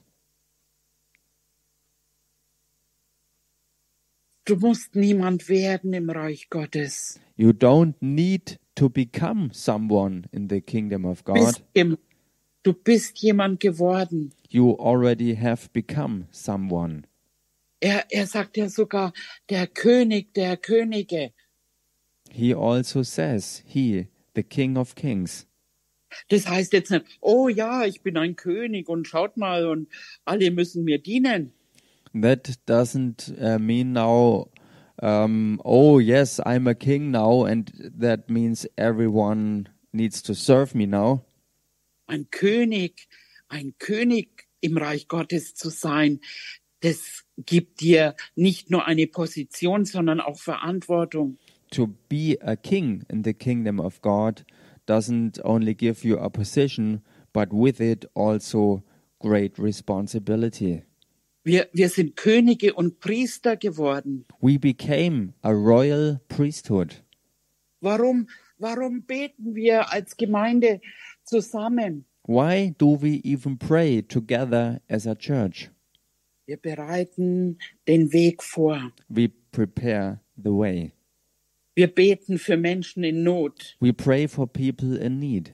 Du musst niemand werden im Reich Gottes. You don't need to become someone in the kingdom of Du bist, God. jem- du bist jemand geworden. You already have become someone. Er, er sagt ja sogar, der König der Könige. He also says, He, the King of Kings. Das heißt jetzt nicht, oh ja, ich bin ein König und schaut mal und alle müssen mir dienen. That doesn't uh, mean now, um, oh yes, I'm a king now, and that means everyone needs to serve me now. Ein König, ein König im Reich Gottes zu sein, das gibt dir nicht nur eine Position, sondern auch Verantwortung. To be a king in the kingdom of God doesn't only give you a position, but with it also great responsibility. Wir, wir sind Könige und Priester geworden. We became a royal priesthood. Warum, warum beten wir als Gemeinde zusammen? Why do we even pray together as a church? Wir bereiten den Weg vor. We prepare the way. Wir beten für Menschen in Not. We pray for people in need.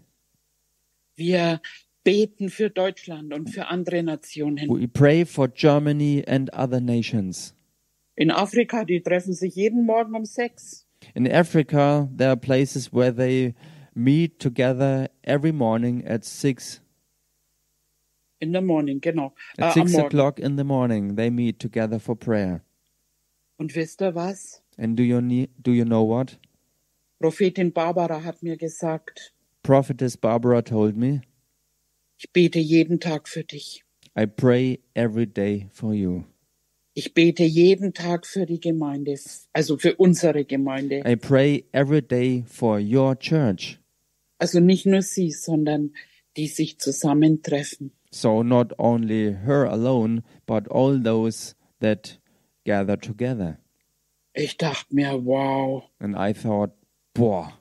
Wir beten für Deutschland und für andere Nationen. We pray for Germany and other nations. In Afrika, die treffen sich jeden Morgen um sechs. In Africa, there are places where they meet together every morning at six. In the morning, genau. Äh, At am six Morgen. o'clock in the morning, they meet together for prayer. Und wisst ihr was? And do you ne- do you know what? Prophetin Barbara hat mir gesagt, Prophetess Barbara told me, ich bete jeden Tag für dich. I pray every day for you. Ich bete jeden Tag für die Gemeinde, also für unsere Gemeinde. I pray every day for your church. Also nicht nur sie, sondern die sich zusammentreffen. So not only her alone, but all those that gather together. Ich dachte mir, wow. And I thought, boah.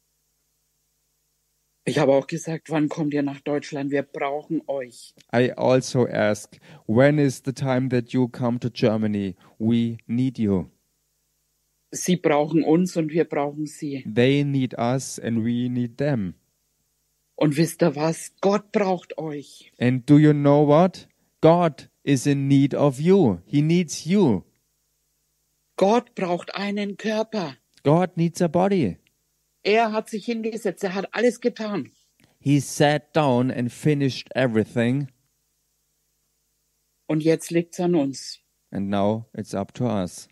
Ich habe auch gesagt, wann kommt ihr nach Deutschland? Wir brauchen euch. I also ask, when is the time that you come to Germany? We need you. Sie brauchen uns und wir brauchen sie. They need us and we need them. Und wisst ihr was? Gott braucht euch. And do you know what? God is in need of you. He needs you. Gott braucht einen Körper. God needs a body. Er hat sich hingesetzt, er hat alles getan. He sat down and finished everything. Und jetzt liegt's an uns. And now it's up to us.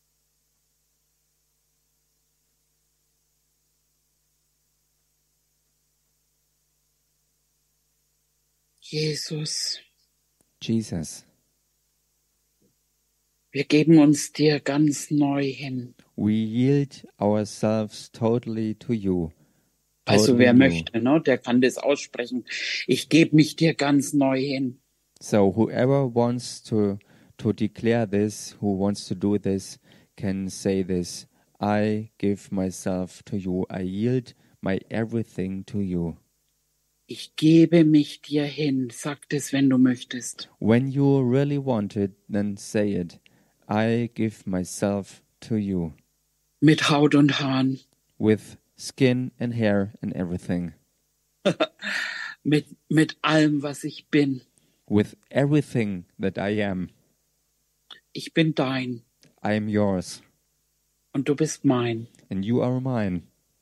Jesus, Jesus, wir geben uns dir ganz neu hin. we yield ourselves totally to you. Also Totally wer new. möchte, ne, der kann das aussprechen. Ich gebe mich dir ganz neu hin. So whoever wants to to declare this, who wants to do this, can say this. I give myself to you. I yield my everything to you. Ich gebe mich dir hin. Sag das, wenn du möchtest. When you really want it, then say it. I give myself to you. Mit Haut und Haaren. With skin and hair and everything. Mit, mit allem, was ich bin. With everything that I am. Ich bin dein. I am yours. Und du bist mein. And you are mine.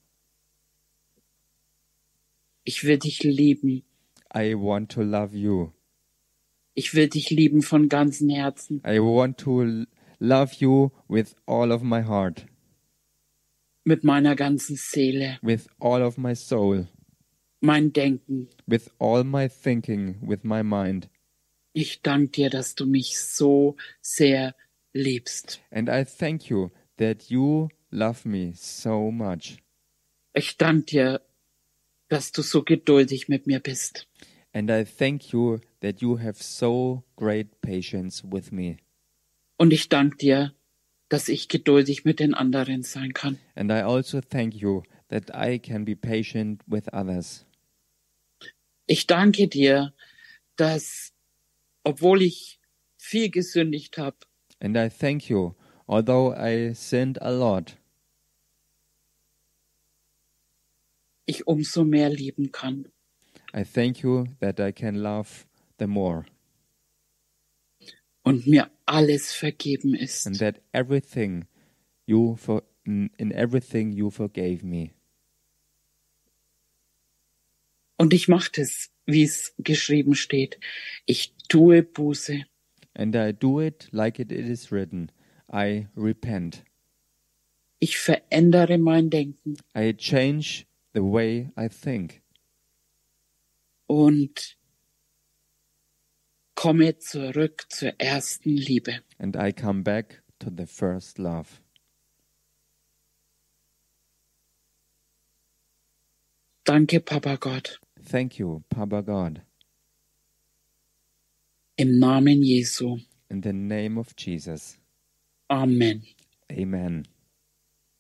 Ich will dich lieben. I want to love you. Ich will dich lieben von ganzem Herzen. I want to l- love you with all of my heart. Mit meiner ganzen Seele. With all of my soul. Mein Denken. With all my thinking. With my mind. Ich danke dir, dass du mich so sehr liebst. And I thank you that you love me so much. Ich danke dir, dass du so geduldig mit mir bist. And I thank you that you have so great patience with me. Und ich danke dir, dass ich geduldig mit den anderen sein kann. And I also thank you that I can be patient with others. Ich danke dir, dass, obwohl ich viel gesündigt habe, And I thank you, although I sinned a lot, ich umso mehr lieben kann. I thank you that I can love the more, Und mir alles vergeben ist. and that everything you for in in everything you forgave me. Und ich mache das, wie es geschrieben steht. Ich tue Buße. And I do it like it is written. I repent. Ich verändere mein Denken. I change the way I think. Und komme zurück zur ersten Liebe. And I come back to the first love. Danke, Papa Gott. Thank you, Papa God. Im Namen Jesu. In the name of Jesus. Amen. Amen.